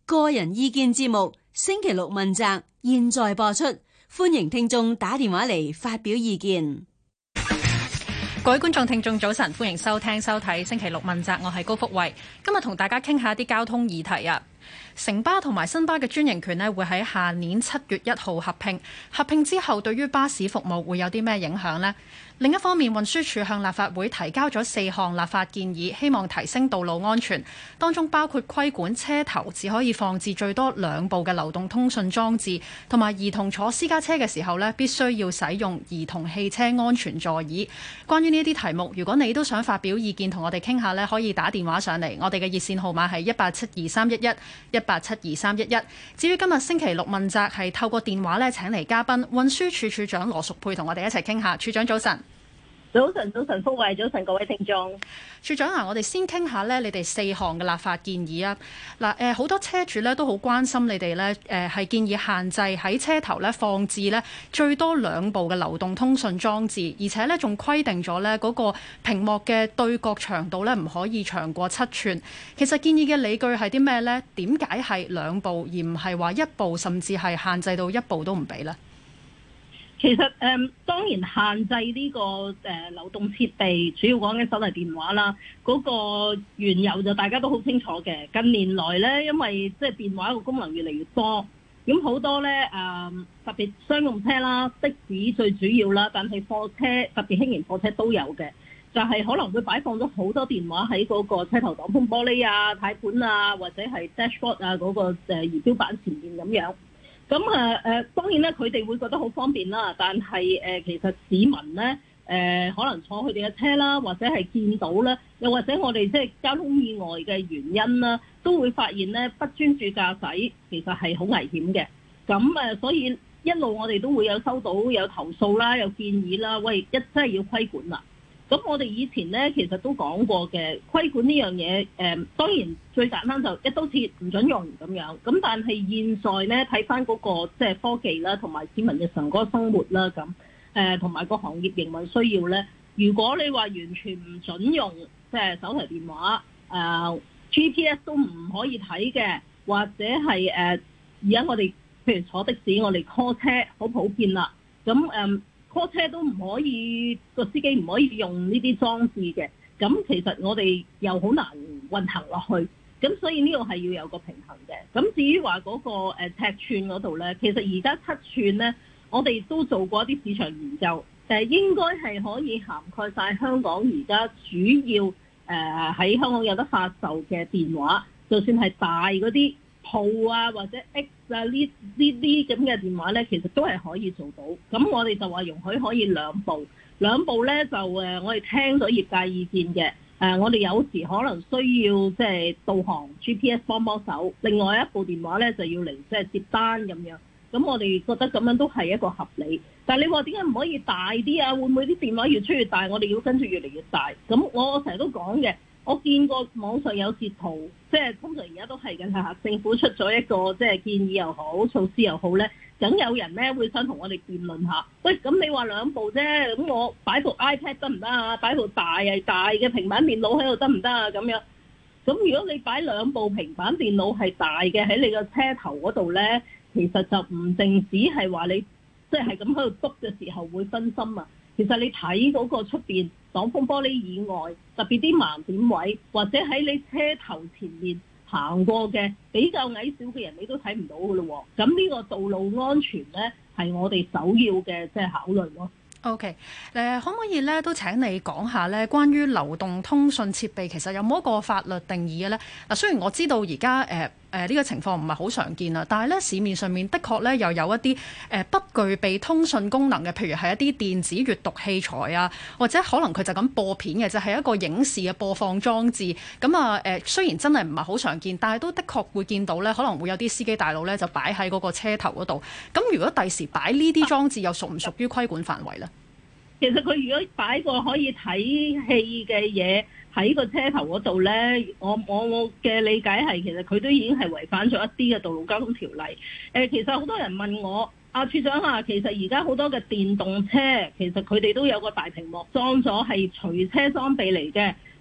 個人意見節目星期六問責，現在播出，歡迎聽眾打電話嚟發表意見。 各位觀眾聽眾早晨，歡迎收聽收睇星期六問責，我係高福慧，今日同大家傾下啲交通議題啊。城巴同埋新巴嘅專營權呢，會喺下年7月1號合併。合併之後，對於巴士服務會有啲咩影響呢？另一方面，運輸署向立法會提交咗4項立法建議，希望提升道路安全，當中包括規管車頭只可以放置最多2部嘅流動通訊裝置，同埋兒童坐私家車嘅時候呢，必須要使用兒童汽車安全座椅。關於呢啲題目，如果你都想發表意見同我哋傾下呢，可以打電話上嚟，我哋嘅熱線號碼係1872311，1872311。至於今日星期六問責係透過電話呢請嚟嘉賓，運輸署署長羅淑佩同我哋一齊傾下。署長早晨。 早晨，福慧，早晨各位聽眾。 署長啊，我哋先傾下咧，你哋4項嘅立法建議啊。嗱，好多車主咧都好關心你哋咧，係建議限制喺車頭咧放置咧最多2部嘅流動通訊裝置，而且咧仲規定咗咧嗰個屏幕嘅對角長度咧唔可以長過7吋。其實建議嘅理據係啲咩咧？點解係2部而唔係話1部，甚至係限制到1部都唔俾咧？ 其實當然限制呢個流動設備，主要講緊手提電話啦。嗰個緣由就大家都好清楚嘅。近年來咧，因為即係電話個功能越嚟越多，咁好多咧特別商用車啦、的士最主要啦，但係貨車特別輕型貨車都有嘅，就係可能會擺放咗好多電話喺嗰個車頭擋風玻璃啊、軚盤啊，或者係 dashboard 啊嗰個儀表板前面咁樣。咁當然咧，佢哋會覺得好方便啦。但係其實市民咧可能坐佢哋嘅車啦，或者係見到咧，又或者我哋即係交通意外嘅原因啦，都會發現咧不專注駕駛其實係好危險嘅。咁所以一路我哋都會有收到有投訴啦，有建議啦，喂，真係要規管啦。咁我哋以前咧其實都講過嘅，規管呢樣嘢當然最簡單就一刀切唔準用咁樣。咁但係現在咧睇翻嗰個即係科技啦，同埋市民日常嗰個生活啦，咁同埋個行業營運需要咧，如果你話完全唔準用即係手提電話GPS 都唔可以睇嘅，或者係而家我哋譬如坐的士，我哋 call 車好普遍啦。咁call 車都唔可以，個司機唔可以用呢啲裝置嘅，咁其實我哋又好難運行落去，咁所以呢個係要有個平衡嘅。咁至於話嗰個尺寸嗰度呢，其實而家7吋呢，我哋都做過一啲市場研究，應該係可以涵蓋晒香港而家主要喺香港有得發售嘅電話，就算係大嗰啲鋪啊或者 X 啊呢啲咁嘅電話咧，其實都係可以做到。咁我哋就話容許可以2部咧就我哋聽咗業界意見嘅。我哋有時可能需要即係導航 GPS 幫手，另外一部電話咧就要嚟即係接單咁樣。咁我哋覺得咁樣都係一個合理。但係你話點解唔可以大啲啊？會唔會啲電話越出越大，我哋要跟住越嚟越大？咁我成日都講嘅。我見過網上有截圖，即係通常而家都係緊係政府出咗一個即係建議又好，措施又好咧，梗有人咧會想同我哋辯論下。喂，咁你話2部啫，咁我擺部 iPad 得唔得啊？擺部大嘅平板電腦喺度得唔得啊？咁樣，咁如果你擺2部平板電腦係大嘅喺你個車頭嗰度咧，其實就唔淨止係話你即係咁喺度篤嘅時候會分心啊。其實你睇嗰個出邊擋風玻璃以外，特別啲盲點位，或者喺你車頭前面行過嘅比較矮小嘅人，你都睇唔到㗎咯。咁呢個道路安全呢，係我哋首要嘅即係考慮咯。 OK， 可唔可以咧都請你講下咧關於流動通訊設備其實有冇一個法律定義嘅咧？嗱，雖然我知道而家呢個情況唔係好常見啦，但係咧市面上面的確咧又有一啲不具備通訊功能嘅，譬如係一啲電子閱讀器材啊，或者可能佢就咁播片嘅，就係一個影視嘅播放裝置。咁啊雖然真係唔係好常見，但係都的確會見到咧，可能會有啲司機大佬咧就擺喺嗰個車頭嗰度。咁如果第時擺呢啲裝置，又屬唔屬於規管範圍咧？ 其實佢如果擺個可以睇戲嘅嘢喺個車頭嗰度呢，我嘅理解係其實佢都已經係違反咗一啲嘅道路交通條例。其實好多人問我，處長啊，其實而家好多嘅電動車其實佢哋都有個大屏幕裝咗係隨車裝備嚟嘅。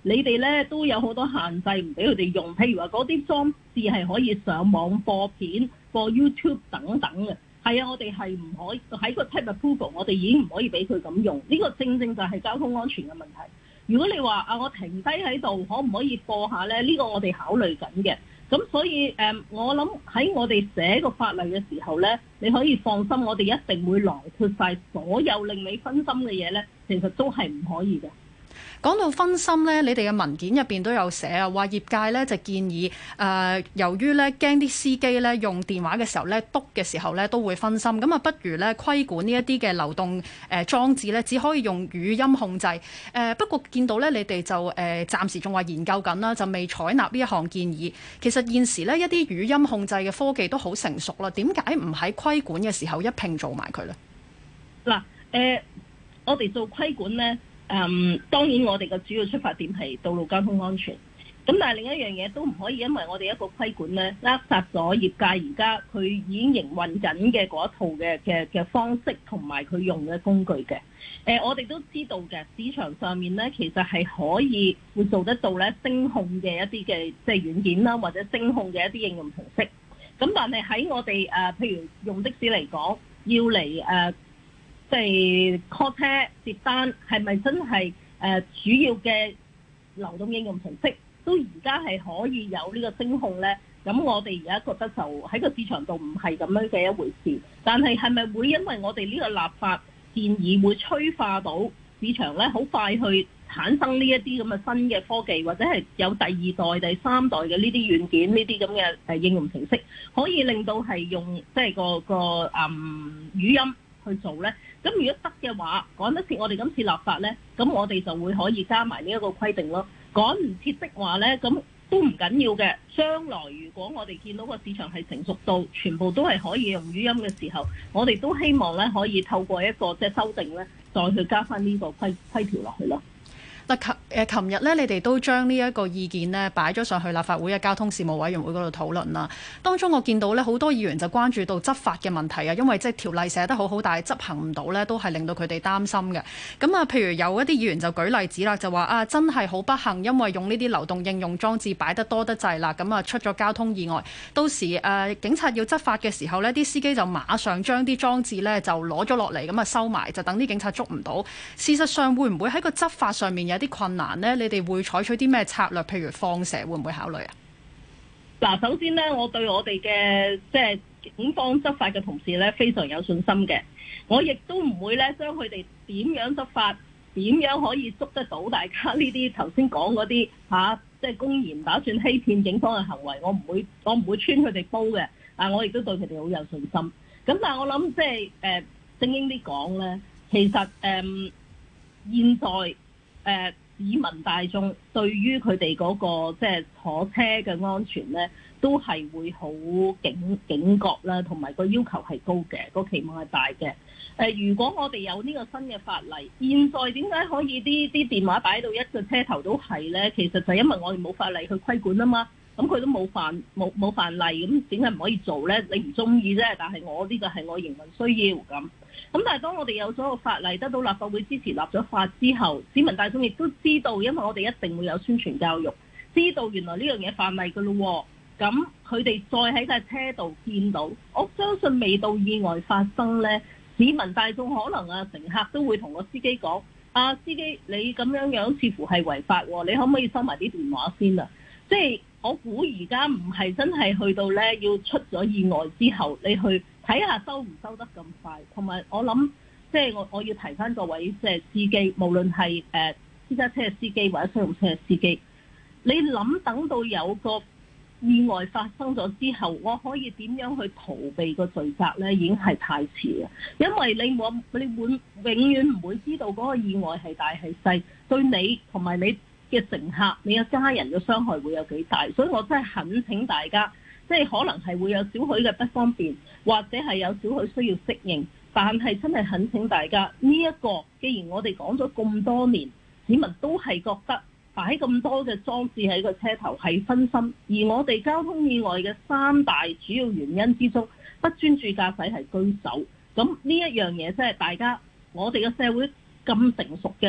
你哋咧都有好多限制，唔俾佢哋用。譬如話嗰啲裝置係可以上網播片、播 YouTube 等等嘅。係啊，我哋係唔可以喺個 type approval，我哋已經唔可以俾佢咁用。呢個正正就係交通安全嘅問題。如果你話啊，我停低喺度，可唔可以播下咧？呢個我哋考慮緊嘅。咁所以我諗喺我哋寫個法例嘅時候咧，你可以放心，我哋一定會囊括晒所有令你分心嘅嘢咧，其實都係唔可以嘅。 講到分心咧，你哋嘅文件入邊都有寫啊，話業界咧就建議由於咧驚啲司機咧用電話嘅時候咧篤嘅時候咧都會分心，咁啊不如咧規管呢一啲嘅流動裝置咧，只可以用語音控制。不過見到咧你哋就暫時仲話研究緊啦，就未採納呢一項建議。其實現時咧一啲語音控制嘅科技都好成熟啦，點解唔喺規管嘅時候一併做埋佢咧？嗱， 我哋做規管咧。當然我哋嘅主要出發點係道路交通安全，咁但係另一樣嘢都唔可以因為我哋一個規管咧，扼殺咗業界而家佢已經營運緊嘅嗰一套嘅方式同埋佢用嘅工具嘅。我哋都知道嘅市場上面咧，其實係可以會做得到咧聲控嘅一啲嘅即係軟件啦，或者聲控嘅一啲應用程式。咁但係喺我哋譬如用的士嚟講，要嚟即係 call 車接單，係咪真係主要嘅流動應用程式都而家係可以有呢個聲控呢？咁我哋而家覺得就喺個市場度唔係咁樣嘅一回事。但係係咪會因為我哋呢個立法建議會催化到市場呢？好快去產生呢一啲咁嘅新嘅科技，或者係有第二代、第三代嘅呢啲軟件、呢啲咁嘅應用程式，可以令到係用即係個語音去做呢？咁如果得嘅話，趕得切我哋今次立法呢，咁我哋就會可以加埋呢一個規定咯。趕唔切的話呢，咁都唔緊要嘅。將來如果我哋見到個市場係成熟到全部都係可以用語音嘅時候，我哋都希望呢可以透過一個即係修訂呢，再去加翻呢個規條落去咯。 嗱，琴日咧，你哋都將呢一個意見呢擺咗上去立法會嘅交通事務委員會嗰度討論啦。當中我見到咧好多議員就關注到執法嘅問題啊，因為即係條例寫得好好，但係執行唔到咧，都係令到佢哋擔心嘅。咁啊，譬如有一啲議員就舉例子啦，就話啊，真係好不幸，因為用呢啲流動應用裝置擺得多得滯啦，咁啊出咗交通意外。到時警察要執法嘅時候呢，啲司機就馬上將啲裝置呢就攞咗落嚟，咁啊收埋，就等啲警察捉唔到。事實上會唔會喺個執法上面有啲困難呢？你哋會採取啲咩策略？譬如放蛇會唔會考慮啊？ 嗱，首先呢，我對我哋嘅即係警方執法嘅同事呢非常有信心嘅。我亦都唔會呢將佢哋點樣執法，點樣可以捉得到大家呢啲頭先講嗰啲即係公然打算欺騙警方嘅行為，我唔會穿佢哋煲嘅。我亦都對佢哋好有信心。咁但係我諗即係正經啲講呢，其實現在市民大眾對於佢哋嗰個即係坐車嘅安全呢，都係會好警覺啦，同埋個要求係高嘅，個期望係大嘅。如果我哋有呢個新嘅法例，現在點解可以啲電話擺到一個車頭都係呢？其實就因為我哋冇法例去規管啊嘛。咁佢都冇犯例，咁點解唔可以做呢？你唔中意啫，但係我呢個係我營運需要咁。咁但係當我哋有咗個法例，得到立法會支持立咗法之後，市民大眾亦都知道，因為我哋一定會有宣傳教育，知道原來呢樣嘢犯例㗎咯。咁佢哋再喺架車度見到，我相信未到意外發生呢，市民大眾可能乘客都會同個司機講：司機你咁樣似乎係違法喎，你可唔可以收埋啲電話先啊？即係我估而家唔係真係去到呢，要出咗意外之後，你去睇下收唔收得咁快。同埋我諗，即係我要提翻各位即係司機，無論係私家車嘅司機或者商用車嘅司機，你諗等到有個意外發生咗之後，我可以點樣去逃避個罪責呢？已經係太遲啦。因為你永遠唔會知道嗰個意外係大係細，對你同埋你嘅乘客、你嘅家人嘅傷害會有幾大，所以我真係懇請大家，即係可能係會有少許嘅不方便，或者係有少許需要適應，但係真係懇請大家呢一個，既然我哋講咗咁多年，市民都係覺得擺咁多嘅裝置喺個車頭係分心，而我哋交通意外嘅3大主要原因之中，不專注駕駛係居首。咁呢一樣嘢即係大家，我哋嘅社會咁成熟嘅話，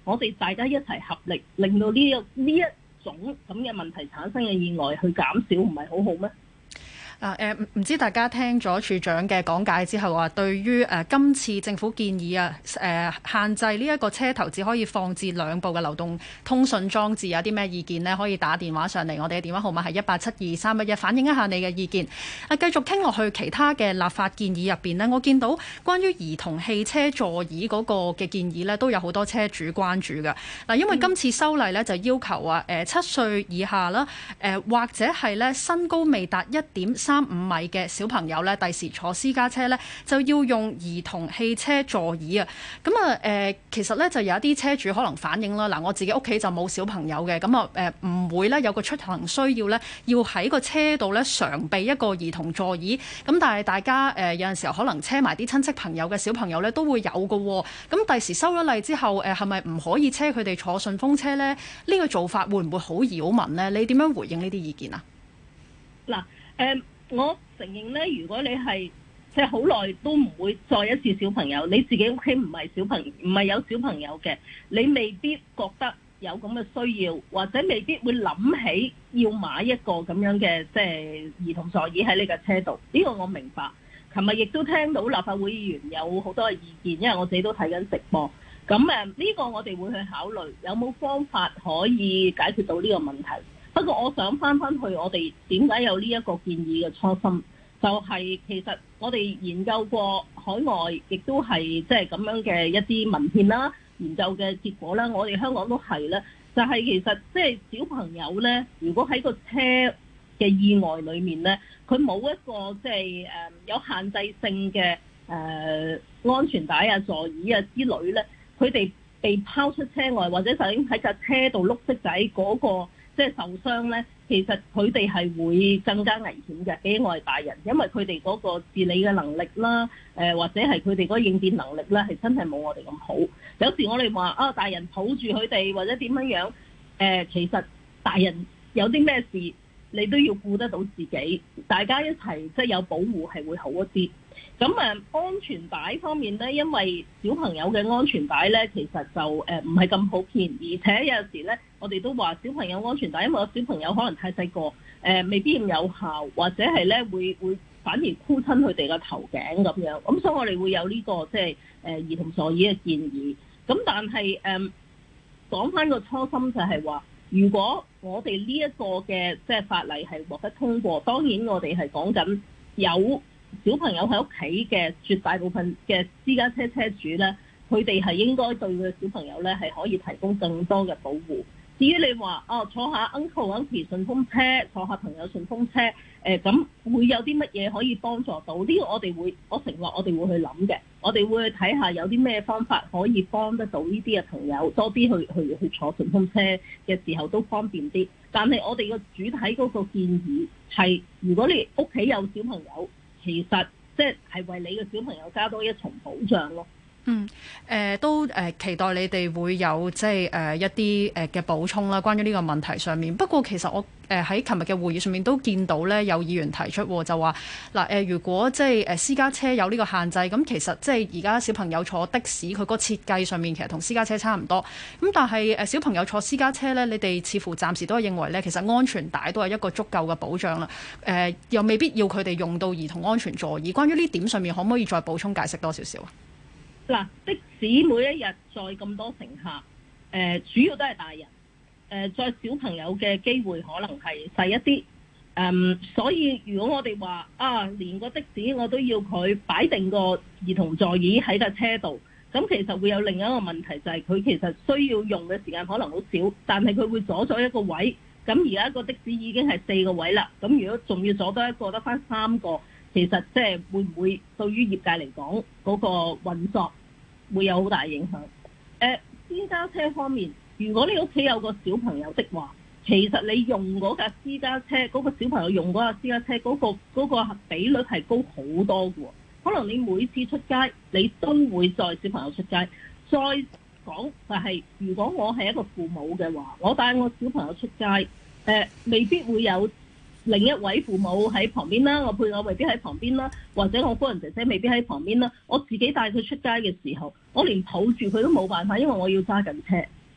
我哋大家一齊合力，令到呢一種咁嘅問題產生嘅意外去減少，唔係好好咩？ 唔知大家聽咗處長嘅講解之後話，對於今次政府建議限制呢一個車頭只可以放置2部嘅流動通訊裝置，有啲咩意見呢？可以打電話上嚟，我哋嘅電話號碼係1872311，反映一下你嘅意見。繼續傾落去其他嘅立法建議入邊呢，我見到關於兒童汽車座椅嗰個嘅建議呢，都有好多車主關注嘅。嗱，因為今次修例呢，就要求7歲以下啦，或者係呢身高未達1.35米嘅小朋友咧，第時坐私家車咧就要用兒童汽車座椅啊！咁其實咧就有一啲車主可能反映啦，嗱，我自己屋企就冇小朋友嘅，咁唔會咧有個出行需要咧，要喺個車度咧常備一個兒童座椅。咁但係大家有陣時候可能車埋啲親戚朋友嘅小朋友咧都會有嘅喎。咁第時收咗例之後，係咪唔可以車佢哋坐順風車咧？呢個做法會唔會好擾民咧？你點樣回應呢啲意見啊？ 嗱，我承認咧，如果你係即係好耐都唔會再一次小朋友，你自己屋企唔係有小朋友嘅，你未必覺得有咁嘅需要，或者未必會諗起要買一個咁樣嘅即係兒童座椅喺你嘅車度。呢個我明白。琴日亦都聽到立法會議員有好多嘅意見，因為我自己都睇緊直播。咁呢個我哋會去考慮有冇方法可以解決到呢個問題。不過我想翻去我哋點解有呢一個建議嘅初心，就係其實我哋研究過海外，亦都係即係咁樣嘅一啲文獻啦、研究嘅結果啦，我哋香港都係咧，就係其實即係小朋友咧，如果喺個車嘅意外裡面咧，佢冇一個即係有限制性嘅安全帶啊、座椅啊之類咧，佢哋被拋出車外，或者就已經喺架車度碌色仔嗰個即係受傷咧，其實佢哋係會更加危險嘅，比我哋大人，因為佢哋嗰個自理嘅能力啦，或者係佢哋嗰個應變能力咧，係真係冇我哋咁好。有時我哋話大人抱住佢哋或者點樣樣，其實大人有啲咩事，你都要顧得到自己，大家一齊即係有保護係會好一啲。咁安全帶方面咧，因為小朋友嘅安全帶咧，其實就唔係咁普遍，而且有時咧，我哋都話小朋友安全帶，因為個小朋友可能太細個，未必咁有效，或者係咧會反而箍親佢哋個頭頸咁樣。咁所以我哋會有呢個即係兒童座椅嘅建議。咁但係講翻個初心就係話，如果我哋呢一個嘅即係法例係獲得通過，當然我哋係講緊有小朋友喺屋企嘅絕大部分嘅私家車車主呢，佢哋係應該對佢嘅小朋友呢係可以提供更多嘅保護。至於你話坐下 uncle auntie 順風車，坐下朋友順風車，咁會有啲乜嘢可以幫助到？呢個我承諾我哋會去諗嘅，我哋會去睇下有啲咩方法可以幫得到呢啲嘅朋友多啲去坐順風車嘅時候都方便啲。但係我哋個主體嗰個建議係，如果你屋企有小朋友，其實即係為你嘅小朋友加多一重保障咯。 都期待你哋會有即係一啲嘅補充啦，關於呢個問題上面。不過其實我喺琴日嘅會議上面都見到咧，有議員提出就話嗱如果即係私家車有呢個限制，咁其實即係而家小朋友坐的士，佢個設計上面其實同私家車差唔多。咁但係小朋友坐私家車咧，你哋似乎暫時都係認為咧，其實安全帶都係一個足夠嘅保障啦。又未必要佢哋用到兒童安全座椅。關於呢點上面，可唔可以再補充解釋多少少啊？ 嗱，的士每一日載咁多乘客，主要都係大人，載小朋友嘅機會可能係細一啲，所以如果我哋話連個的士我都要佢擺定個兒童座椅喺架車度，咁其實會有另一個問題，就係佢其實需要用嘅時間可能好少，但係佢會阻咗一個位，咁而家個的士已經係4個位啦，咁如果仲要阻多一個，得返3個。其實即係會唔會對於業界嚟講嗰個運作會有好大影響？私家車方面，如果你屋企有個小朋友的話，其實你用嗰架私家車，嗰個小朋友用嗰架私家車嗰個比率係高好多嘅喎。可能你每次出街，你都會載小朋友出街。再講就係，如果我係一個父母嘅話，我帶我小朋友出街，未必會有另一位父母喺旁邊啦，我配偶未必喺旁邊啦，或者我夫人姐姐未必喺旁邊啦。我自己帶佢出街嘅時候，我連抱住佢都冇辦法，因為我要揸緊車。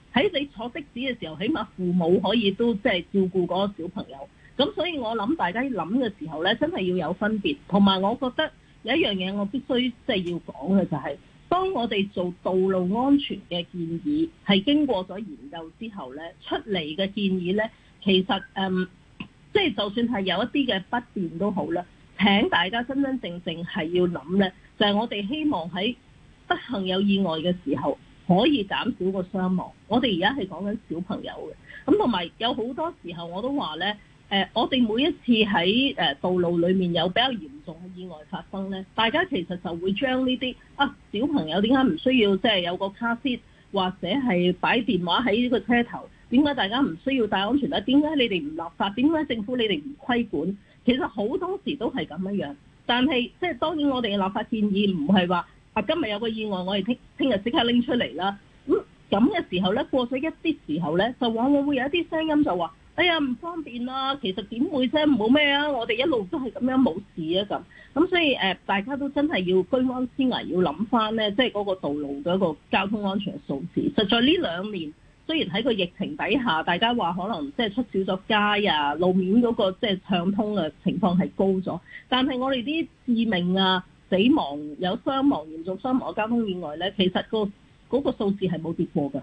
喺你坐的士嘅時候，起碼父母可以都即係照顧嗰個小朋友。咁所以我諗大家諗嘅時候咧，真係要有分別。同埋我覺得有一樣嘢我必須即係要講嘅就係，當我哋做道路安全嘅建議係經過咗研究之後咧，出嚟嘅建議咧，其實即係就算係有一啲嘅不便都好啦，請大家真真正正係要諗咧，就係我哋希望喺不幸有意外嘅時候可以減少個傷亡。我哋而家係講緊小朋友嘅，咁同埋有好多時候我都話咧，我哋每一次喺道路裡面有比較嚴重嘅意外發生咧，大家其實就會將呢啲小朋友點解唔需要即係有個卡 seat 或者係擺電話喺呢個車頭？點解大家唔需要戴安全帶？點解你哋唔立法？點解政府你哋唔規管？其實好多時都係咁樣。但係即係當然我哋嘅立法建議唔係話今日有個意外，我哋聽日即刻拎出嚟啦。咁嘅時候咧，過咗一啲時候咧，就往往會有一啲聲音就話：哎呀唔方便啦，其實點會啫？冇咩啊，我哋一路都係咁樣冇事啊咁。所以大家都真係要居安思危，要諗翻咧，即係嗰個道路嘅一個交通安全嘅數字。實在呢2年。雖然喺個疫情底下，大家話可能即係出少咗街啊，路面嗰個即係暢通嘅情況係高咗，但係我哋啲致命啊、死亡、有傷亡、嚴重傷亡嘅交通意外咧，其實嗰個數字係冇跌過嘅。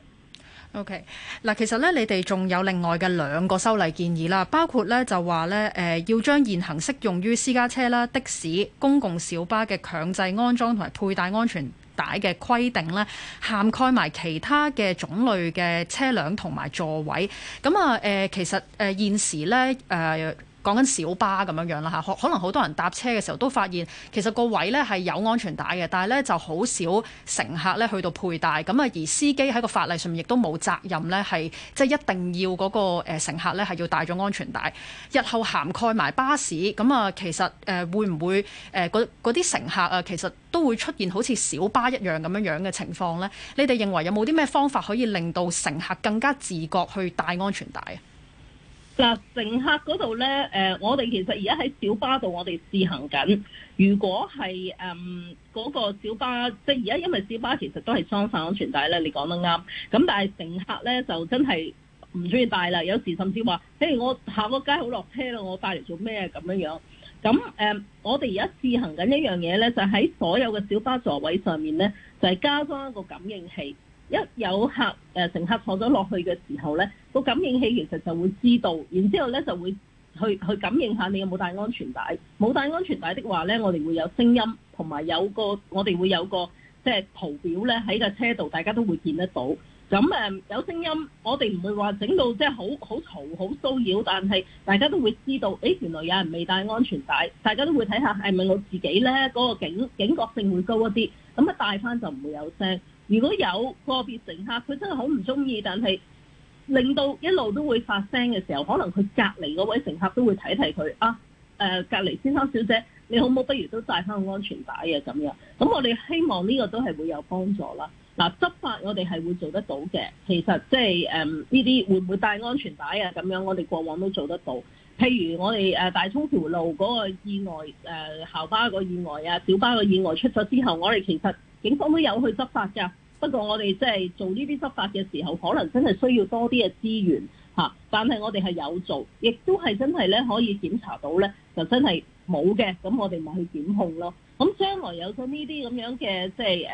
OK， 嗱，其實咧，你哋仲有另外嘅2個修例建議啦，包括咧就話咧，要將現行適用於私家車啦、的士、公共小巴嘅強制安裝同埋佩戴安全帶嘅規定咧，涵蓋埋其他嘅種類嘅車輛同埋座位。咁啊，其實現時咧講緊小巴咁樣啦嚇，可能好多人搭車嘅時候都發現，其實個位咧係有安全帶嘅，但係咧就好少乘客咧去到佩戴。咁啊，而司機喺個法例上面亦都冇責任咧，係即係一定要嗰個乘客咧係要戴咗安全帶。日後涵蓋埋巴士，咁啊，其實會唔會嗰啲乘客啊，其實都會出現好似小巴一樣咁樣嘅情況咧？你哋認為有冇啲咩方法可以令到乘客更加自覺去戴安全帶啊？ 嗱，乘客嗰度咧，我哋其實而家喺小巴度，我哋試行緊。如果係嗰個小巴，即係而家因為小巴其實都係裝晒安全帶咧，你講得啱。咁但係乘客咧就真係唔中意戴啦，有時甚至話，譬如我下個街好落車啦，我帶嚟做咩咁樣？咁我哋而家試行緊一樣嘢咧，就喺所有嘅小巴座位上面咧，就係加裝一個感應器。一有乘客坐咗落去嘅時候咧，個感應器其實就會知道，然之後咧就會去感應下你有冇帶安全帶。冇帶安全帶的話咧，我哋會有聲音，同埋我哋會有個即係圖表咧喺個車度，大家都會見得到。咁有聲音，我哋唔會話整到即係好嘈、好騷擾，但係大家都會知道，原來有人未帶安全帶，大家都會睇下係咪我自己咧，嗰個警覺性會高一啲，咁一帶翻就唔會有聲。如果有個別乘客佢真係好唔中意，但係令到一路都會發聲嘅時候，可能佢隔離嗰位乘客都會提佢隔離先生小姐，你好唔好不如都帶翻個安全帶啊咁樣。咁我哋希望呢個都係會有幫助啦。嗱，執法我哋係會做得到嘅。其實即係呢啲會唔會帶安全帶啊咁樣，我哋過往都做得到。譬如我哋大涌橋路嗰個意外，校巴個意外啊，小巴個意外出咗之後，我哋其實警方都有去執法㗎。不過我哋即係做呢啲執法嘅時候，可能真係需要多啲嘅資源嚇。但係我哋係有做，亦都係真係咧可以檢查到咧，就真係冇嘅，咁我哋咪去檢控咯。咁將來有咗呢啲咁樣嘅即係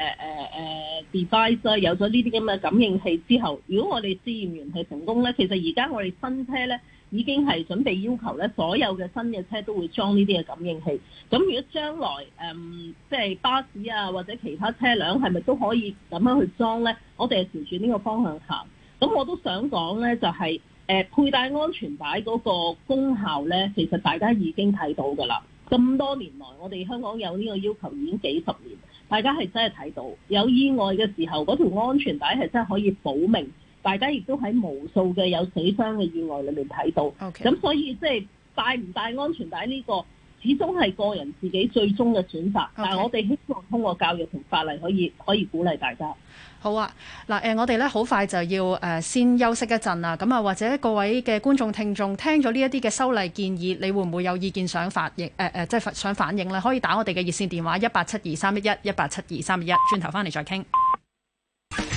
device 有咗呢啲咁嘅感應器之後，如果我哋試驗完係成功咧，其實而家我哋新車咧已經係準備要求咧，所有嘅新嘅車都會裝呢啲嘅感應器。咁如果將來即係巴士啊或者其他車輛係咪都可以咁樣去裝咧？我哋係朝住呢個方向行。咁我都想講咧，就係佩戴安全帶嗰個功效咧，其實大家已經睇到㗎啦。咁多年來，我哋香港有呢個要求已經幾十年，大家係真係睇到有意外嘅時候，嗰條安全帶係真係可以保命。大家亦都喺無數嘅有死傷嘅意外裏面睇到。咁所以即係帶唔帶安全帶呢個，始終係個人自己最終嘅選擇。但係我哋希望通過教育同法例可以鼓勵大家。 好啊，嗱我哋咧好快就要先休息一陣啦。咁啊，或者各位嘅觀眾聽眾聽咗呢一啲嘅修例建議，你會唔會有意見想發映即係想反映咧？可以打我哋嘅熱線電話187231187231，轉頭翻嚟再傾。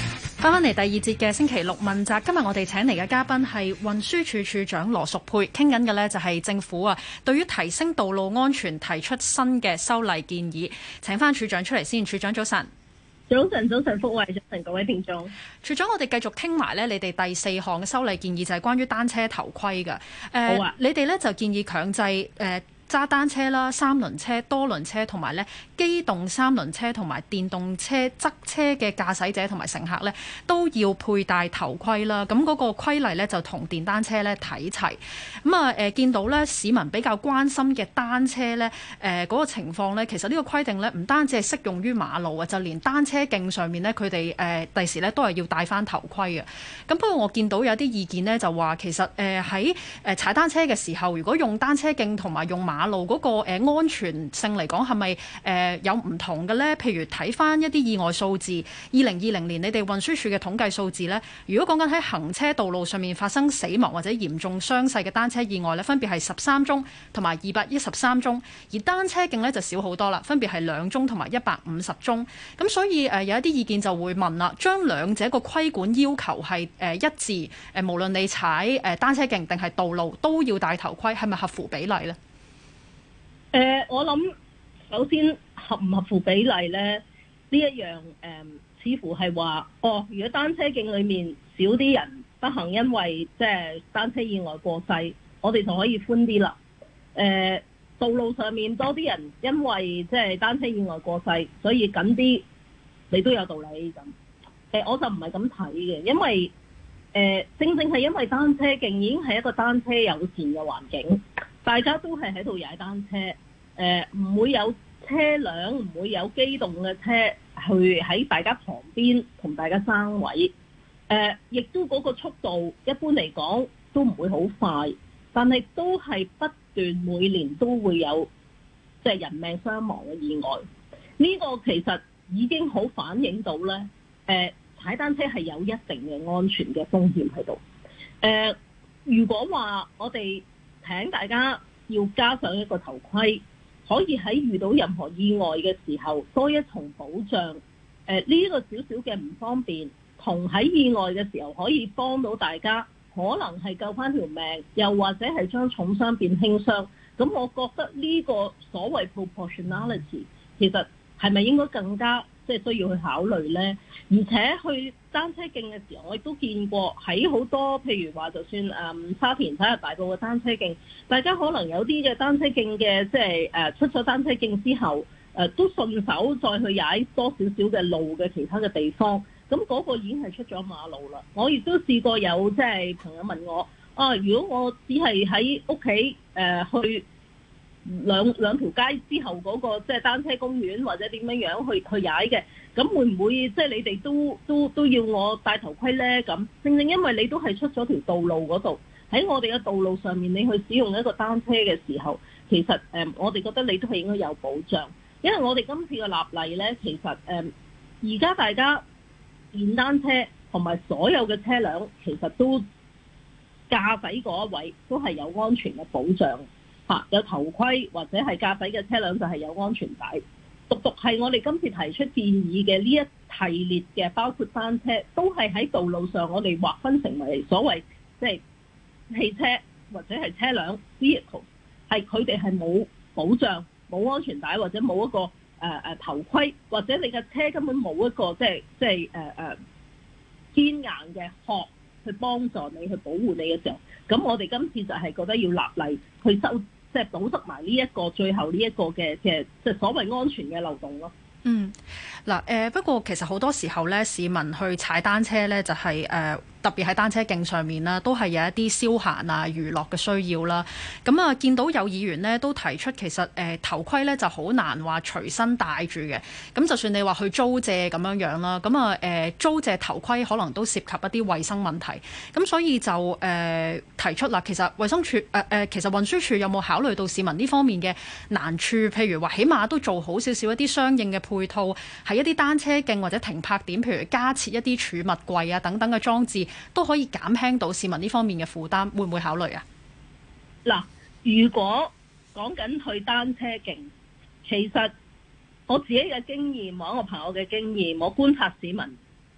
翻嚟第二節嘅星期六問責，今日我哋請嚟嘅嘉賓係運輸署署長羅淑佩，傾緊嘅呢就係政府對於提升道路安全提出新嘅修例建議。請翻署長出嚟先，署長早晨。 早晨，福慧，早晨各位聽眾。 署長，我哋繼續傾埋呢，你哋第4項嘅修例建議就係關於單車頭盔嘅。 好啊。 你哋呢就建議強制揸單車啦、三輪車、多輪車同埋咧機動三輪車同埋電動車側車嘅駕駛者同埋乘客咧都要佩戴頭盔啦。咁嗰個規例咧就同電單車咧睇齊。咁見到咧市民比較關心嘅單車咧嗰個情況咧，其實呢個規定咧唔單止係適用於馬路啊，就連單車徑上面咧佢哋第時咧都係要戴翻頭盔嘅。咁不過我見到有啲意見咧就話其實喺踩單車嘅時候，如果用單車徑同埋用馬路嗰個安全性嚟講係咪有唔同嘅呢？譬如睇翻一啲意外數字，2020年你哋運輸署嘅統計數字呢，如果講緊喺行車道路上面發生死亡或者嚴重傷勢嘅單車意外呢，分別係13宗同埋213宗，而單車徑呢就少好多啦，分別係2宗同埋150宗。咁所以有一啲意見就會問啦，將兩者個規管要求係一致，無論你踩單車徑定係道路都要戴頭盔，係咪合乎比例呢？ 我諗首先合唔合乎比例呢？呢一樣似乎係話，如果單車徑裏面少啲人不幸因為即係單車意外過世，我哋就可以寬啲啦。道路上面多啲人因為即係單車意外過世，所以緊啲，你都有道理咁。我就唔係咁睇嘅，因為正係因為單車徑已經係一個單車友善嘅環境。大家都係喺度踩單車，唔會有車輛，唔會有機動嘅車去喺大家旁邊同大家爭位，亦都嗰個速度一般嚟講都唔會好快，但係都係不斷每年都會有即係人命傷亡嘅意外。呢個其實已經好反映到呢，踩單車係有一定嘅安全嘅風險喺度。如果話我哋請大家要加上一個頭盔，可以喺遇到任何意外嘅時候多一重保障。呢個少少嘅唔方便，同喺意外嘅時候可以幫到大家，可能係救翻條命，又或者係將重傷變輕傷。咁我覺得呢個所謂 proportionality 其實係咪應該更加即係需要去考慮呢？而且去單車徑嘅時候，我亦都見過喺好多譬如話，就算沙田體育大道嘅單車徑，大家可能有啲嘅單車徑嘅即係出咗單車徑之後，都順手再去踩多少少嘅路嘅其他嘅地方，咁嗰個已經係出咗馬路啦。我亦都試過有即係朋友問我，如果我只係喺屋企去兩條街之後嗰個即係單車公園或者點樣去踩嘅，咁會唔會即係你哋都要我戴頭盔呢？咁正因為你都係出咗條道路嗰度，喺我哋嘅道路上面，你去使用一個單車嘅時候，其實我哋覺得你都係應該有保障，因為我哋今次嘅立例呢，其實而家大家電單車同埋所有嘅車輛，其實都駕駛嗰一位都係有安全嘅保障。有頭盔或者係駕駛嘅車輛就係有安全帶，獨係我哋今次提出建議嘅呢一系列嘅，包括單車都係喺道路上我哋劃分成為所謂即係汽車或者係車輛 vehicle， 係佢哋係冇保障、冇安全帶或者冇一個頭盔，或者你嘅車根本冇一個即係堅硬嘅殼去幫助你去保護你嘅時候，咁我哋今次就係覺得要立例去即係堵塞埋呢一個最後呢一個嘅即係所謂安全嘅漏洞咯。 嗱，不過其實好多時候咧，市民去踩單車咧，就係特別喺單車徑上面啦，都係有一啲消閒啊、娛樂嘅需要啦。咁啊，見到有議員呢都提出，其實頭盔咧就好難話隨身帶住嘅。咁就算你話去租借咁樣啦，咁啊租借頭盔可能都涉及一啲衛生問題。咁所以就提出啦，其實衛生署其實運輸署有冇考慮到市民呢方面嘅難處？譬如話，起碼都做好少少一啲相應嘅配套，喺一啲單車徑或者停泊點，譬如加設一啲儲物櫃啊等等嘅裝置，都可以減輕到市民呢方面嘅負擔，會唔會考慮啊？ 嗱，如果講緊去單車徑，其實我自己嘅經驗，我一個朋友嘅經驗，我觀察市民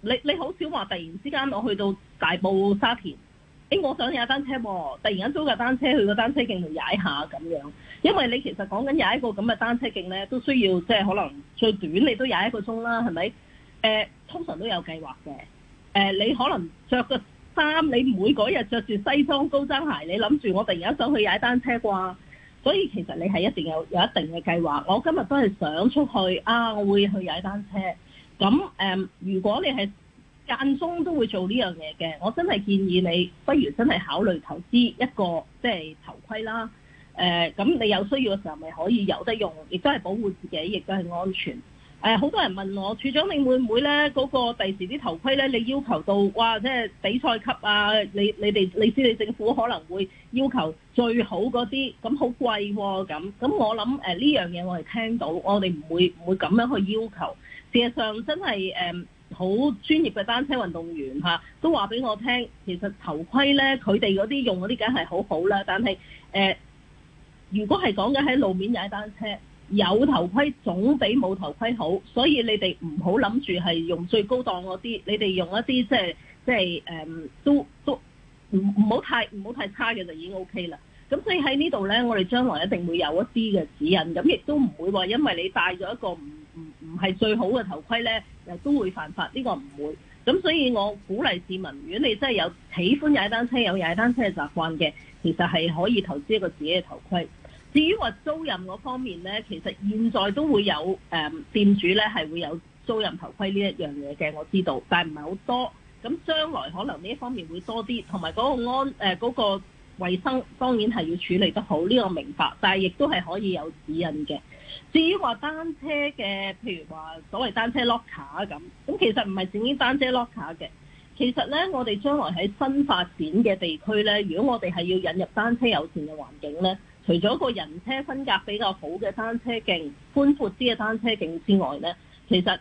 你好少話突然之間我去到大埔沙田，我想踩單車喎，突然間租架單車去個單車徑度踩下咁樣，因為你其實講緊踩一個咁嘅單車徑咧，都需要即係可能最短你都踩1個鐘啦，係咪？通常都有計劃嘅。你可能着個衫，你唔會嗰日着住西裝高踭鞋，你諗住我突然間想去踩單車啩？所以其實你係一定有一定嘅計劃。我今日都係想出去啊，我會去踩單車。咁如果你係間中都會做呢樣嘢嘅，我真係建議你不如真係考慮投資一個即係頭盔啦。咁你有需要嘅時候咪可以有得用，亦都係保護自己，亦都係安全。好多人問我處長，你會唔會咧嗰個第時啲頭盔咧，你要求到哇，即係比賽級啊？你知你政府可能會要求最好嗰啲，咁好貴喎咁。我諗呢樣嘢我哋聽到，我哋唔會咁樣去要求。事實上真係好專業嘅單車運動員都話俾我聽，其實頭盔咧佢哋嗰啲用嗰啲梗係好好啦，但係如果係講緊喺路面踩單車，有頭盔總比冇頭盔好，所以你哋唔好諗住係用最高檔嗰啲，你哋用一啲即係都唔好太差嘅就已經 OK 啦。咁所以喺呢度咧，我哋將來一定會有一啲嘅指引，咁亦都唔會話因為你戴咗一個唔係最好嘅頭盔咧，又都會犯法，呢個唔會。咁所以我鼓勵市民，如果你真係有喜歡踩單車、有踩單車嘅習慣嘅，其實係可以投資一個自己嘅頭盔。至於話租賃嗰方面咧，其實現在都會有店主咧係會有租賃頭盔呢一樣嘢嘅，我知道，但係唔係好多。咁將來可能呢一方面會多啲，同埋嗰個嗰個衛生當然係要處理得好，呢個明白，但係亦都係可以有指引嘅。至於話單車嘅，譬如話所謂單車 locker 咁其實唔係淨係單車 locker 嘅。其實咧，我哋將來喺新發展嘅地區咧，如果我哋係要引入單車友善嘅環境咧，除咗個人車分隔比較好嘅單車徑、寬闊啲嘅單車徑之外咧，其實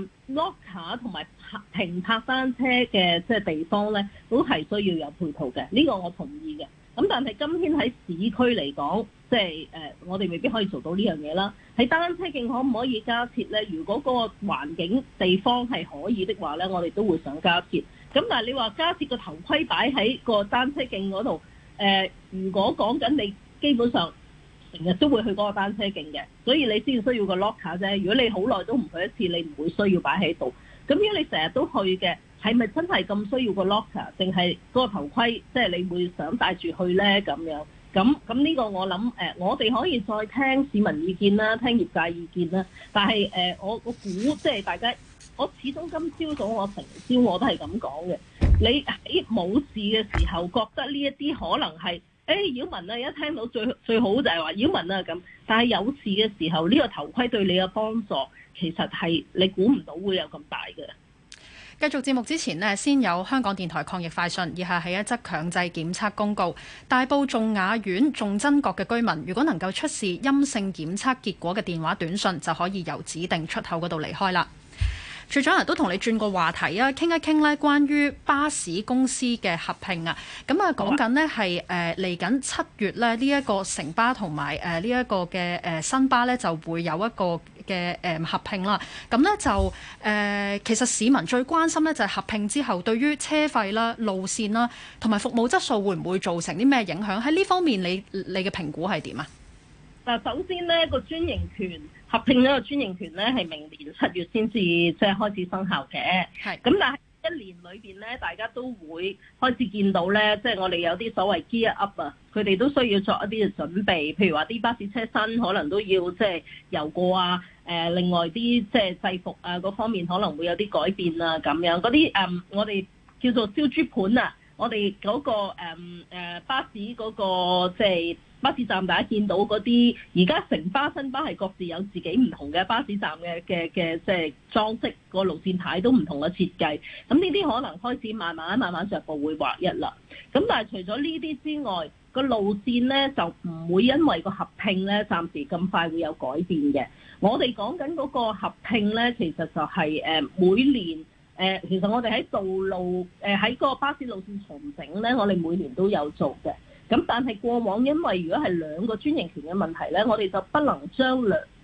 locker 同埋停泊單車嘅即係地方咧，都係需要有配套嘅。呢個我同意嘅。咁但係今天喺市區嚟講，即係我哋未必可以做到呢樣嘢啦。喺單車徑可唔可以加設咧？如果嗰個環境地方係可以的話咧，我哋都會想加設。咁但係你話加設個頭盔擺喺個單車徑嗰度，如果講緊你基本上成日都會去嗰個單車徑嘅，所以你先需要個 locker 啫。如果你好耐都唔去一次，你唔會需要擺喺度。咁如果你成日都去嘅，係咪真係咁需要個 locker？ 定係嗰個頭盔，即係你會想帶住去咧咁樣？咁呢個我諗我哋可以再聽市民意見啦，聽業界意見啦。但係我估即係大家，我始終今朝早我成朝我都係咁講嘅。你喺冇事嘅時候覺得呢一啲可能係擾民啊，一聽到最好就係話擾民啊咁。但係有事嘅時候，呢個頭盔對你嘅幫助其實係你估唔到會有咁大嘅。 繼續節目之前呢，先有香港電台抗疫快訊，以下係一則強制檢測公告。大埔頌雅苑頌珍閣嘅居民，如果能夠出示陰性檢測結果嘅電話短訊，就可以由指定出口嗰度離開啦。處長都同你轉個話題啊，傾一傾咧關於巴士公司嘅合併啊。咁啊講緊呢係嚟緊7月咧呢一個城巴同埋呢一個嘅新巴咧就會有一個嘅合併啦。咁咧就其實市民最關心咧就係合併之後對於車費啦、路線啦同埋服務質素會唔會造成啲咩影響？喺呢方面你嘅評估係點啊？ 嗱，首先呢個專營權合併咗個專營權咧，係明年7月先至即係開始生效嘅。係咁，但係一年裏邊咧，大家都會開始見到咧，即係我哋有啲所謂 gear up 啊，佢哋都需要作一啲嘅準備，譬如話啲巴士車身可能都要即係油過啊，另外啲即係制服啊嗰方面可能會有啲改變啊咁樣，嗰啲我哋叫做燒豬盤啊，我哋嗰個巴士嗰個即係。巴士站大家見到嗰啲，而家城巴、新巴係各自有自己唔同嘅巴士站嘅即係裝飾，個路線牌都唔同嘅設計。咁呢啲可能開始慢慢逐步會劃一啦。咁但係除咗呢啲之外，個路線咧就唔會因為個合併咧暫時咁快會有改變嘅。我哋講緊嗰個合併咧，其實就係每年其實我哋喺道路喺個巴士路線重整咧，我哋每年都有做嘅。咁但係過往因為如果係兩個專營權嘅問題咧，我哋就不能將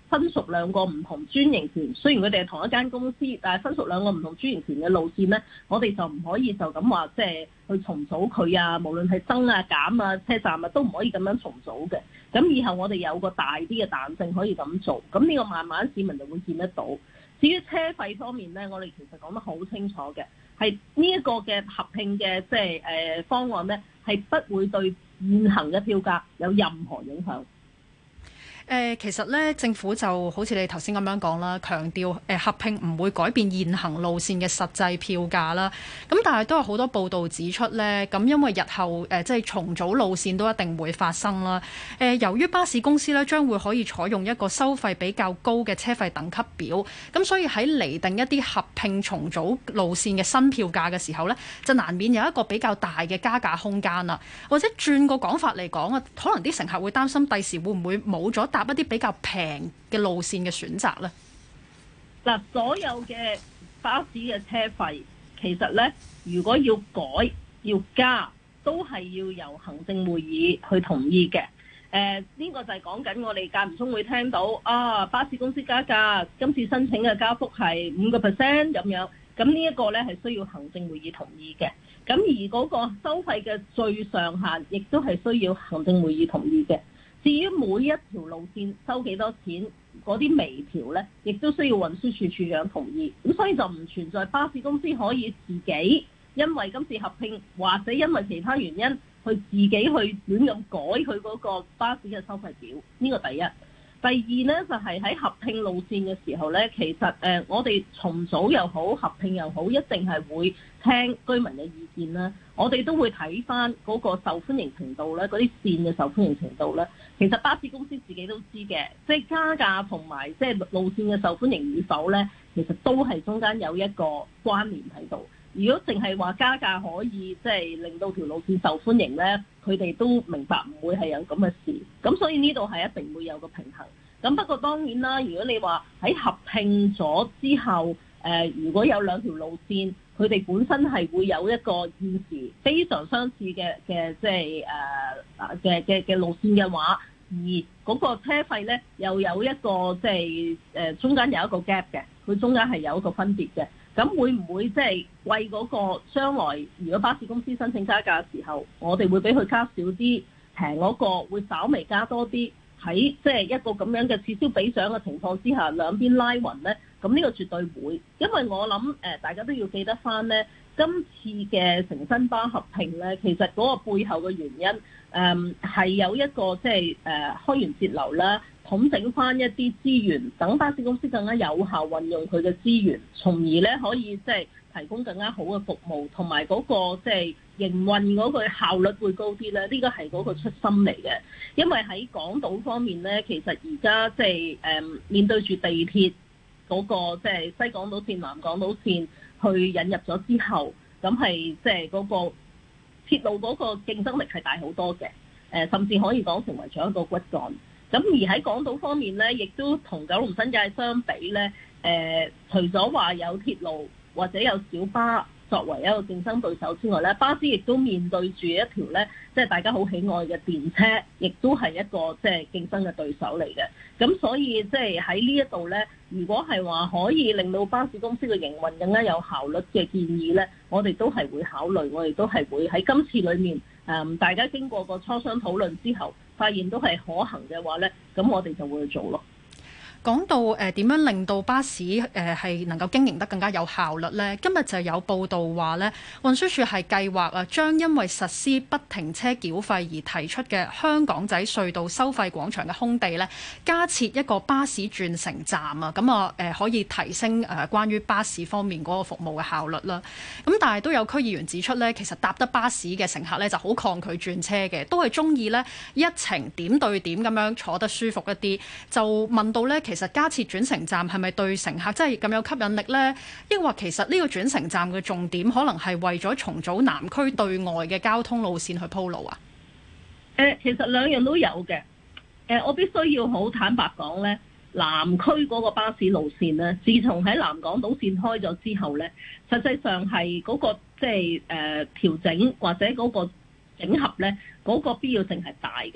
分屬兩個唔同專營權，雖然佢哋係同一間公司，但係分屬兩個唔同專營權嘅路線咧，我哋就唔可以就咁話即係去重組佢啊，無論係增啊減啊車站啊都唔可以咁樣重組嘅。咁以後我哋有個大啲嘅彈性可以咁做，咁呢個慢慢市民就會見得到。至於車費方面咧，我哋其實講得好清楚嘅，係呢一個嘅合併嘅即係方案咧，係不會對現行嘅票價有任何影響。 其實咧，政府就好似你頭先咁樣講啦，強調合併唔會改變現行路線嘅實際票價啦。咁但係都有好多報道指出咧，咁因為日後即係重組路線都一定會發生啦。由於巴士公司咧將會可以採用一個收費比較高嘅車費等級表，咁所以喺釐定一啲合併重組路線嘅新票價嘅時候咧，就難免有一個比較大嘅加價空間啦。或者轉個講法嚟講啊，可能啲乘客會擔心第時會唔會冇咗搭一啲比較平嘅路線嘅選擇呢？ 嗱，所有嘅巴士嘅車費，其實呢，如果要改要加，都係要由行政會議去同意嘅。呢個就係講緊我哋間唔中會聽到啊，巴士公司加價，今次申請嘅加幅係5% 咁樣。咁呢一個呢係需要行政會議同意嘅。咁而嗰個收費嘅最上限，亦都係需要行政會議同意嘅。至於每一條路線收幾多錢，嗰啲微調呢，亦都需要運輸署署長同意。咁所以就唔存在巴士公司可以自己因為今次合併或者因為其他原因，去自己去亂咁改佢嗰個巴士嘅收費表。呢個第一。第二呢，就係喺合併路線嘅時候呢，其實我哋重組又好，合併又好，一定係會聽居民嘅意見啦。我哋都會睇翻嗰個受歡迎程度咧，嗰啲線嘅受歡迎程度咧，其實巴士公司自己都知嘅，即係加價同埋即係路線嘅受歡迎與否咧，其實都係中間有一個關聯喺度。如果淨係話加價可以即係令到條路線受歡迎咧，佢哋都明白唔會係有咁嘅事。咁所以呢度係一定會有個平衡。咁不過當然啦，如果你話喺合併咗之後，如果有兩條路線，佢哋本身係會有一個現時非常相似嘅即係嘅路線嘅話，而嗰個車費咧又有一個即係中間有一個 gap 嘅，佢中間係有一個分別嘅。咁會唔會即係為嗰個將來如果巴士公司申請加價嘅時候，我哋會俾佢加少啲，平嗰個會稍微加多啲？喺即係一個咁樣嘅此消彼長嘅情況之下，兩邊拉勻呢，咁呢個絕對會，因為我諗大家都要記得翻呢，今次嘅城新巴合併呢，其實嗰個背後嘅原因係有一個即係開源節流啦，統整翻一啲資源，等巴士公司更加有效運用佢嘅資源，從而呢可以即係提供更加好嘅服務，同埋嗰個即係營運嗰個效率會高啲咧。呢個係嗰個出心嚟嘅，因為喺港島方面咧，其實而家即係面對住地鐵嗰個即係西港島線、南港島線去引入咗之後，咁係即係嗰個鐵路嗰個競爭力係大好多嘅，甚至可以講成為咗一個骨幹。咁而喺港島方面咧，亦都同九龍新界相比咧，除咗話有鐵路或者有小巴作為一個競爭對手之外咧，巴士亦都面對住一條咧，即係大家好喜愛嘅電車，亦都係一個即係競爭嘅對手嚟嘅。咁所以即係喺呢一度咧，如果係話可以令到巴士公司嘅營運更加有效率嘅建議咧，我哋都係會考慮，我哋都係會喺今次裡面大家經過個磋商討論之後，發現都係可行嘅話咧，咁我哋就會去做咯。 講到點樣令到巴士係能夠經營得更加有效率呢？今日就有報道話呢，運輸署係計劃將因為實施不停車繳費而提出嘅香港仔隧道收費廣場嘅空地呢，加設一個巴士轉乘站啊，咁可以提升關於巴士方面嗰個服務嘅效率啦。咁但係都有區議員指出呢，其實搭得巴士嘅乘客呢就好抗拒轉車嘅，都係中意呢一程點對點咁樣坐得舒服一啲。就問到呢，其實加設轉乘站係咪對乘客真係咁有吸引力呢？抑或其實呢個轉乘站嘅重點可能係為咗重組南區對外嘅交通路線去鋪路啊？ 其實兩樣都有嘅。我必須要好坦白講呢，南區嗰個巴士路線呢，自從喺南港島線開咗之後呢，實際上係嗰個即係調整或者嗰個整合呢，嗰個必要性係大嘅。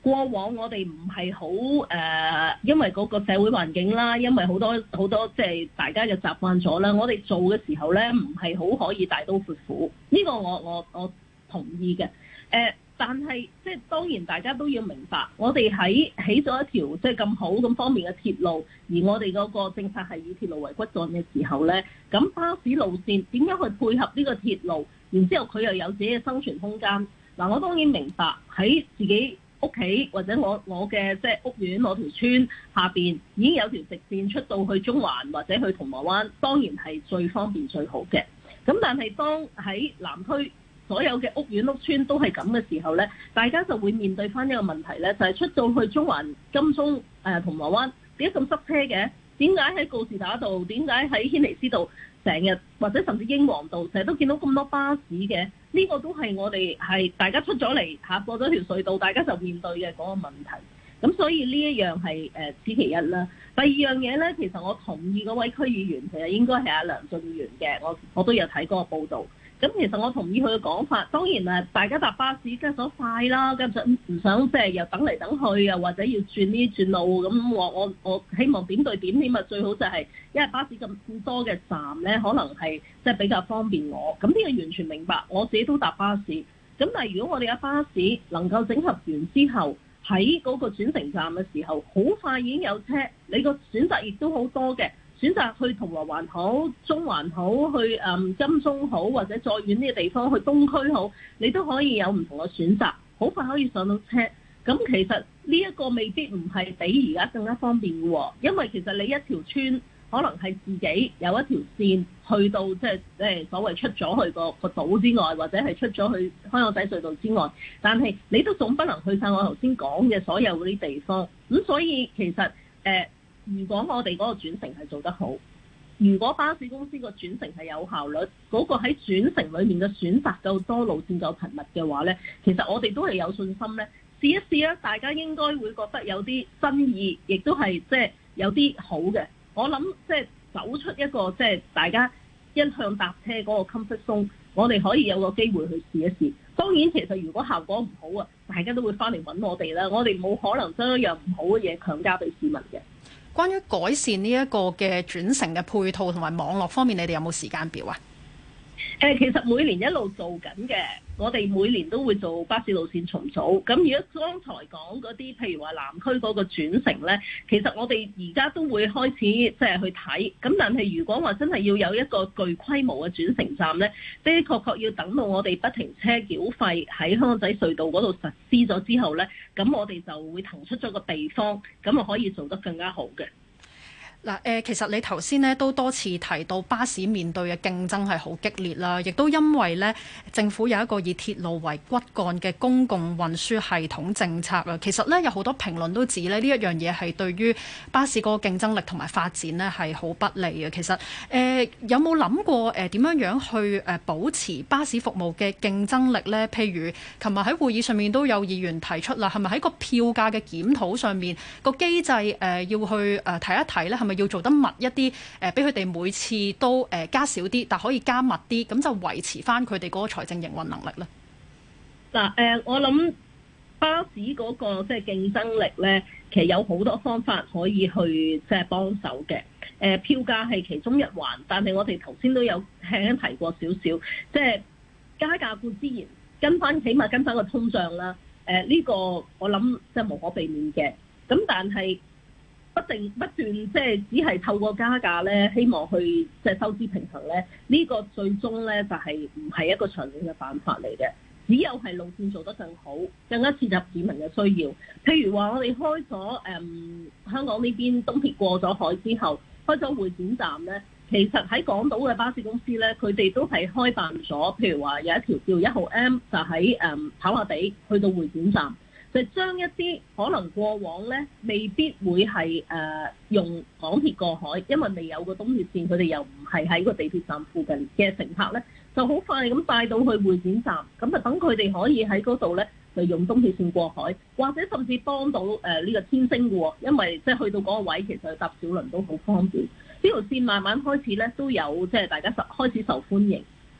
過往我哋唔係好因為嗰個社會環境啦，因為好多即係大家就習慣咗啦，我哋做嘅時候咧唔係好可以大刀闊斧，呢個我同意嘅。但係即係當然大家都要明白，我哋起咗一條即係咁好咁方便嘅鐵路，而我哋嗰個政策係以鐵路為骨幹嘅時候咧，咁巴士路線點樣去配合呢個鐵路，然之後佢又有自己嘅生存空間。嗱，我當然明白喺自己屋企或者我嘅即係屋苑我條村下邊已經有條直線出到去中環或者去銅鑼灣，當然係最方便最好嘅。咁但係當喺南區所有嘅屋苑屋村都係咁嘅時候咧，大家就會面對翻一個問題咧，就係出到去中環、金鐘、銅鑼灣點解咁塞車嘅？點解喺告士打道？點解喺軒尼詩道成日或者甚至英皇道成日都見到咁多巴士嘅？呢個都係我哋係大家出咗嚟過咗條隧道，大家就面對嘅嗰個問題。咁所以呢一樣係此其一啦。第二樣嘢咧，其實我同意嗰位區議員其實應該係阿梁俊賢嘅，我都有睇嗰個報導。咁其實我同意佢嘅講法，當然大家搭巴士梗係想快啦，梗係唔想即係又等嚟等去，又或者要轉呢轉路。咁我希望點對點，起碼最好就係因為巴士咁多嘅站咧，可能係即係比較方便我。咁呢個完全明白，我自己都搭巴士。咁但係如果我哋嘅巴士能夠整合完之後，喺嗰個轉乘站嘅時候，好快已經有車，你個選擇亦都好多嘅。選擇去銅鑼灣好、中環好、去金鐘好，或者再遠啲嘅地方去東區好，你都可以有唔同嘅選擇，好快可以上到車。咁其實呢一個未必唔係比而家更加方便嘅喎，因為其實你一條村可能係自己有一條線去到即係所謂出咗去個島之外，或者係出咗去香港仔隧道之外，但係你都總不能去晒我頭先講嘅所有嗰啲地方。咁所以其實如果我哋嗰個轉乘係做得好，如果巴士公司個轉乘係有效率，嗰個喺轉乘裏面嘅選擇夠多、路線夠頻密嘅話呢，其實我哋都係有信心呢。試一試啦，大家應該會覺得有啲新意，亦都係即係有啲好嘅。我諗即係走出一個即係大家一向搭車嗰個 comfort zone，我哋可以有個機會去試一試。當然，其實如果效果唔好啊，大家都會翻嚟揾我哋啦。我哋冇可能將一樣唔好嘅嘢強加俾市民嘅。 關於改善呢一個嘅轉乘嘅配套同埋網絡方面，你哋有冇時間表啊？ 其實每年一路做緊嘅，我哋每年都會做巴士路線重組。咁如果剛才講嗰啲，譬如話南區嗰個轉乘呢，其實我哋而家都會開始即係去睇。咁但係如果話真係要有一個具規模嘅轉乘站呢，的確要等到我哋不停車繳費喺香港仔隧道嗰度實施咗之後呢，咁我哋就會騰出咗個地方，咁啊可以做得更加好嘅。 嗱，其實你頭先咧都多次提到巴士面對嘅競爭係好激烈啦，亦都因為咧政府有一個以鐵路為骨幹嘅公共運輸系統政策啊。其實咧有好多評論都指咧呢一樣嘢係對於巴士嗰個競爭力同埋發展咧係好不利嘅。其實有冇諗過點樣樣去保持巴士服務嘅競爭力呢？譬如琴日喺會議上面都有議員提出啦，係咪喺個票價嘅檢討上面個機制要去睇一睇呢？係咪要做得密一啲？俾佢哋每次都加少啲，但可以加密啲，咁就維持翻佢哋嗰個財政營運能力呢？ 嗱，我諗巴士嗰個即係競爭力呢，其實有好多方法可以去即係幫手嘅。票價係其中一環，但係我哋頭先都有輕輕提過少少，即係加價固之然起碼跟翻個通脹啦。呢個我諗即係無可避免嘅。咁但係不斷即係只係透過加價咧，希望去即係收支平衡咧，呢個最終咧就係唔係一個長遠嘅辦法嚟嘅。只有係路線做得更好，更加切合市民嘅需要。譬如話我哋開咗香港呢邊東鐵過咗海之後，開咗會展站咧，其實喺港島嘅巴士公司咧，佢哋都係開辦咗，譬如話有一條叫1號 M 就喺跑馬地去到會展站。就將一啲可能過往咧未必會係用港鐵過海，因為未有個東鐵線，佢哋又唔係喺個地鐵站附近嘅乘客咧，就好快咁帶到去會展站，咁啊等佢哋可以喺嗰度咧就用東鐵線過海，或者甚至幫到呢個天星嘅喎，因為即係去到嗰個位其實搭小輪都好方便。呢條線慢慢開始咧都有即係大家開始受歡迎。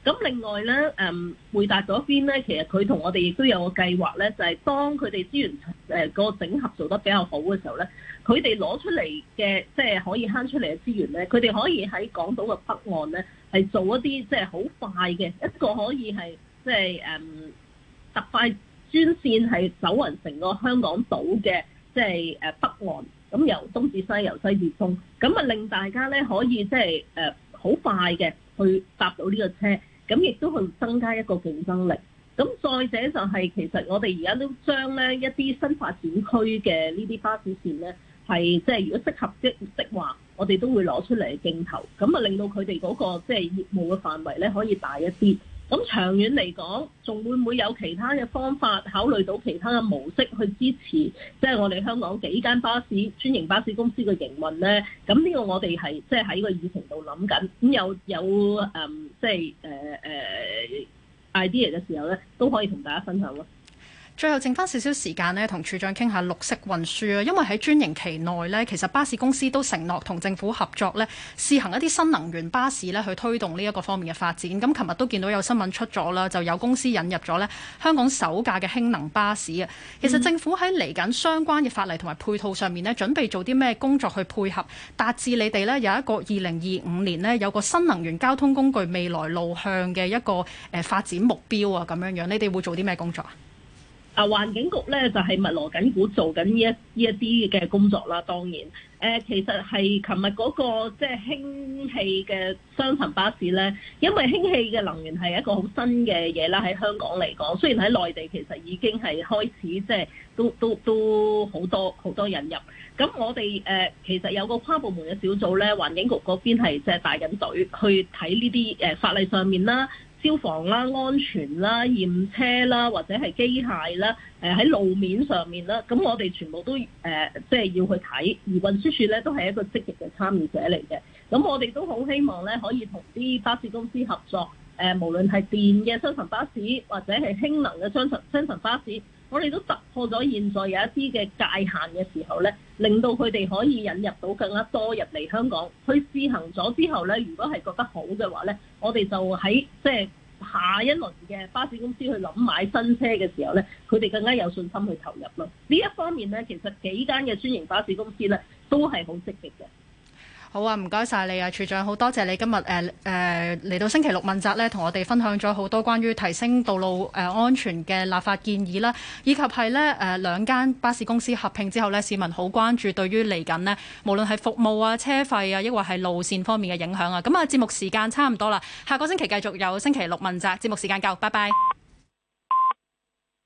咁另外咧，匯達嗰邊咧，其實佢同我哋亦都有個計劃咧，就係當佢哋資源個整合做得比較好嘅時候咧，佢哋攞出嚟嘅即係可以慳出嚟嘅資源咧，佢哋可以喺港島嘅北岸咧係做一啲即係好快嘅一個可以係即係特快專線係走勻成個香港島嘅即係北岸，咁由東至西，由西至東，咁啊令大家咧可以即係好快嘅去搭到呢個車。咁亦都去增加一個競爭力。咁再者就係其實我哋而家都將咧一啲新發展區嘅呢啲巴士線咧，係即係如果適合的話，我哋都會攞出嚟競投，咁啊令到佢哋嗰個即係業務嘅範圍咧可以大一啲。咁長遠嚟講，仲會唔會有其他嘅方法考慮到其他嘅模式去支持，即係我哋香港幾間巴士專營巴士公司嘅營運咧？咁呢個我哋係即係喺個議程度諗緊，咁有即係idea 嘅時候咧，都可以同大家分享咯。 最後剩翻少少時間呢，同處長傾下綠色運輸啊，因為喺專營期內呢，其實巴士公司都承諾同政府合作呢，試行一啲新能源巴士呢，去推動呢一個方面嘅發展。咁琴日都見到有新聞出咗啦，就有公司引入咗呢香港首架嘅氫能巴士啊。其實政府喺嚟緊相關嘅法例同埋配套上面呢，準備做啲咩工作去配合，達至你哋呢有一個2025年呢有個新能源交通工具未來路向嘅一個發展目標啊，咁樣樣，你哋會做啲咩工作啊？ 環境局咧就係密鑼緊鼓做緊呢一啲嘅工作啦。當然，其實係琴日嗰個即係氫氣嘅雙層巴士咧，因為氫氣嘅能源係一個好新嘅嘢啦，喺香港嚟講，雖然喺內地其實已經係開始即係都好多引入。咁我哋其實有個跨部門嘅小組咧，環境局嗰邊係即係帶緊隊去睇呢啲法例上面啦。消防啦、安全啦、驗車啦，或者係機械啦，喺路面上面啦，咁我哋全部都即係要去睇，而運輸署咧都係一個積極嘅參與者嚟嘅。咁我哋都好希望咧可以同啲巴士公司合作，無論係電嘅雙層巴士或者係氫能嘅雙層巴士，我哋都突破咗現在有一啲嘅界限嘅時候咧，令到佢哋可以引入到更加多入嚟香港，去試行咗之後咧，如果係覺得好嘅話咧，我哋就喺即係下一輪嘅巴士公司去諗買新車嘅時候咧，佢哋更加有信心去投入咯。呢一方面咧，其實幾間嘅專營巴士公司咧都係好積極嘅。 好啊，唔該晒你啊，處長，好多謝你今日嚟到星期六問責咧，同我哋分享咗好多關於提升道路安全嘅立法建議啦，以及係咧兩間巴士公司合併之後咧，市民好關注對於嚟緊呢，無論係服務啊、車費啊，抑或係路線方面嘅影響啊。咁啊，節目時間差唔多啦，下個星期繼續有星期六問責，節目時間夠，拜拜。